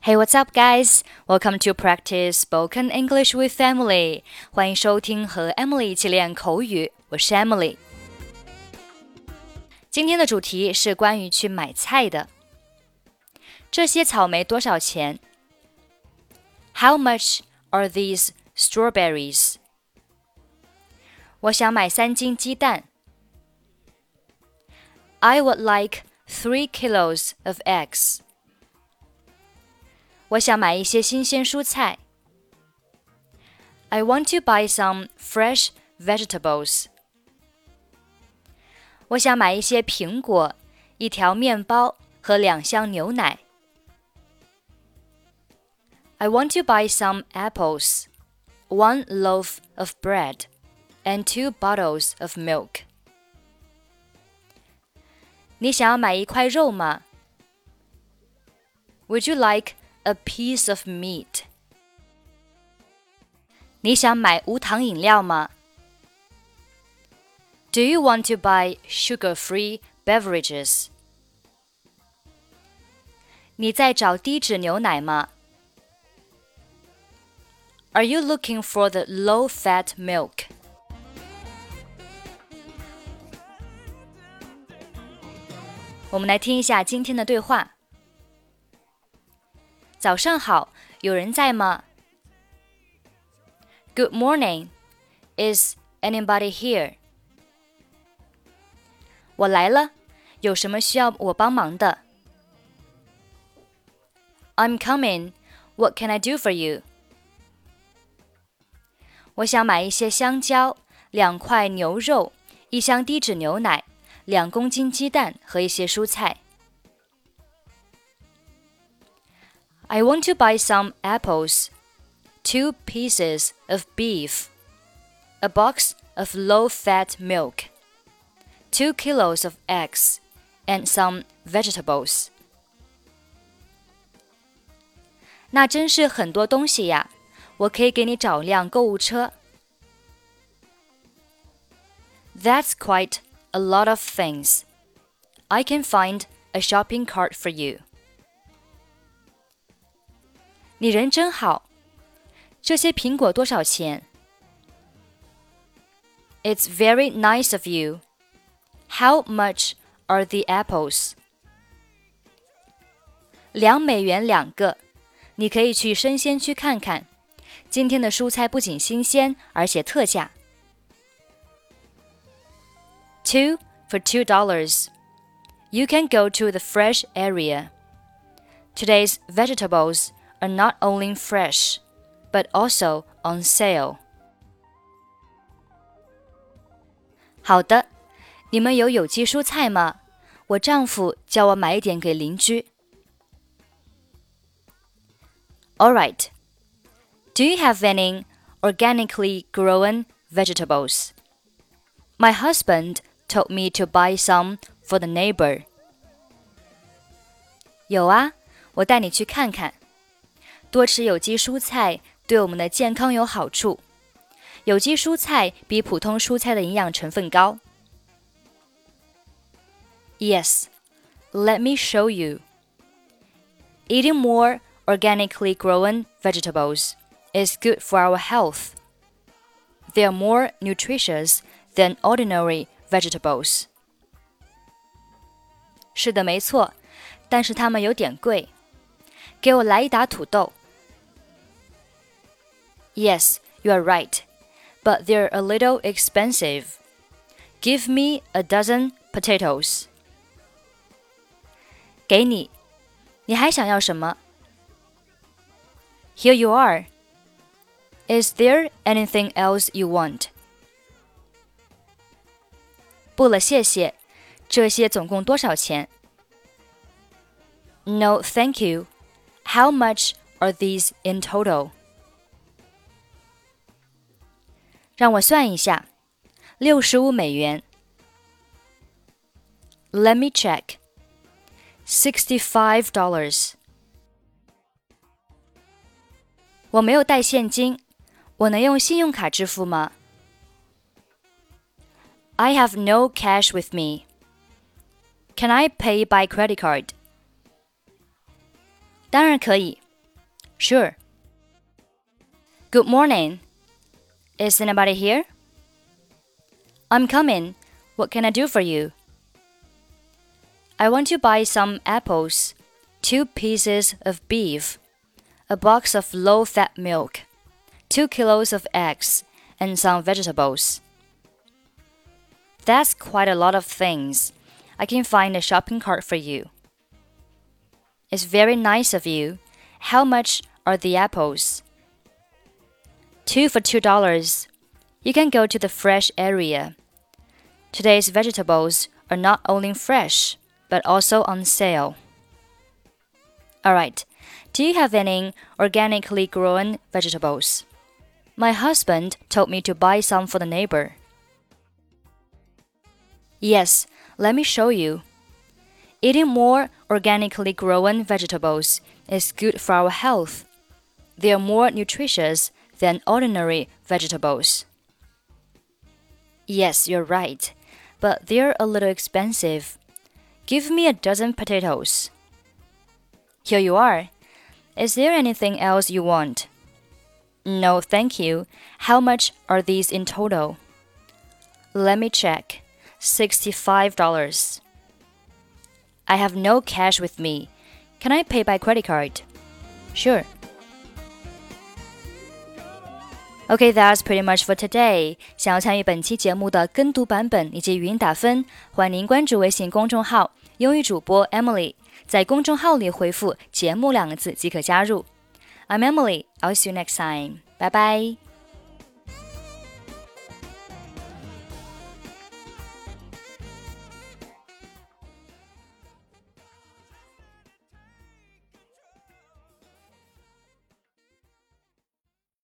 Hey, what's up, guys? Welcome to practice spoken English with Emily. 欢迎收听和 Emily 一起练口语，我是 Emily。今天的主题是关于去买菜的。这些草莓多少钱？ How much are these strawberries? 我想买3斤鸡蛋。I would like 3 kilos of eggs. 我想买一些新鲜蔬菜。I want to buy some fresh vegetables. 我想买一些苹果、一条面包和2箱牛奶。I want to buy some apples, 1 loaf of bread, and 2 bottles of milk. 你想要买一块肉吗？ Would you like a piece of meat? 你想买无糖饮料吗？ Do you want to buy sugar-free beverages? 你在找低脂牛奶吗？ Are you looking for the low-fat milk? 我们来听一下今天的对话。早上好，有人在吗？ Good morning. Is anybody here? 我来了，有什么需要我帮忙的？ I'm coming. What can I do for you? 我想买一些香蕉、2块牛肉、1箱低脂牛奶、2公斤鸡蛋和一些蔬菜。I want to buy some apples, 2 pieces of beef, a box of low-fat milk, 2 kilos of eggs, and some vegetables. 那真是很多东西呀，我可以给你找辆购物车。That's quite a lot of things. I can find a shopping cart for you. 你人真好，这些苹果多少钱？ It's very nice of you. How much are the apples? 2美元2个，你可以去生鲜区看看。今天的蔬菜不仅新鲜，而且特价。2 for $2. You can go to the fresh area. Today's vegetables are not only fresh, but also on sale. 好的，你们有有机蔬菜吗？我丈夫叫我买一点给邻居。All right. Do you have any organically grown vegetables? My husband told me to buy some for the neighbor. 有啊，我带你去看看。多吃有机蔬菜对我们的健康有好处。有机蔬菜比普通蔬菜的营养成分高。Yes, let me show you. Eating more organically grown vegetables is good for our health. They are more nutritious than ordinary vegetables. 是的，没错，但是它们有点贵。给我来一打土豆。Yes, you are right, but they're a little expensive. Give me a dozen potatoes. 给你，你还想要什么？ Here you are. Is there anything else you want? 不了，谢谢。这些总共多少钱？ No, thank you. How much are these in total? 让我算一下，65美元。Let me check. $65. 我没有带现金，我能用信用卡支付吗？ I have no cash with me. Can I pay by credit card? 当然可以， Sure. Good morning. Is anybody here? I'm coming. What can I do for you? I want to buy some apples, 2 pieces of beef, a box of low-fat milk, 2 kilos of eggs, and some vegetables. That's quite a lot of things. I can find a shopping cart for you. It's very nice of you. How much are the apples? 2 for $2. You can go to the fresh area. Today's vegetables are not only fresh, but also on sale. Alright, do you have any organically grown vegetables? My husband told me to buy some for the neighbor. Yes, let me show you. Eating more organically grown vegetables is good for our health. They are more nutritious than ordinary vegetables. Yes, you're right, but they're a little expensive. Give me a dozen potatoes. Here you are. Is there anything else you want? No, thank you. How much are these in total? Let me check. $65. I have no cash with me. Can I pay by credit card? Sure. Okay, that's pretty much for today. 想要参与本期节目的跟读版本以及语音打分，欢迎您关注微信公众号“英语主播 Emily”， 在公众号里回复“节目”2个字即可加入。I'm Emily. I'll see you next time. Bye bye.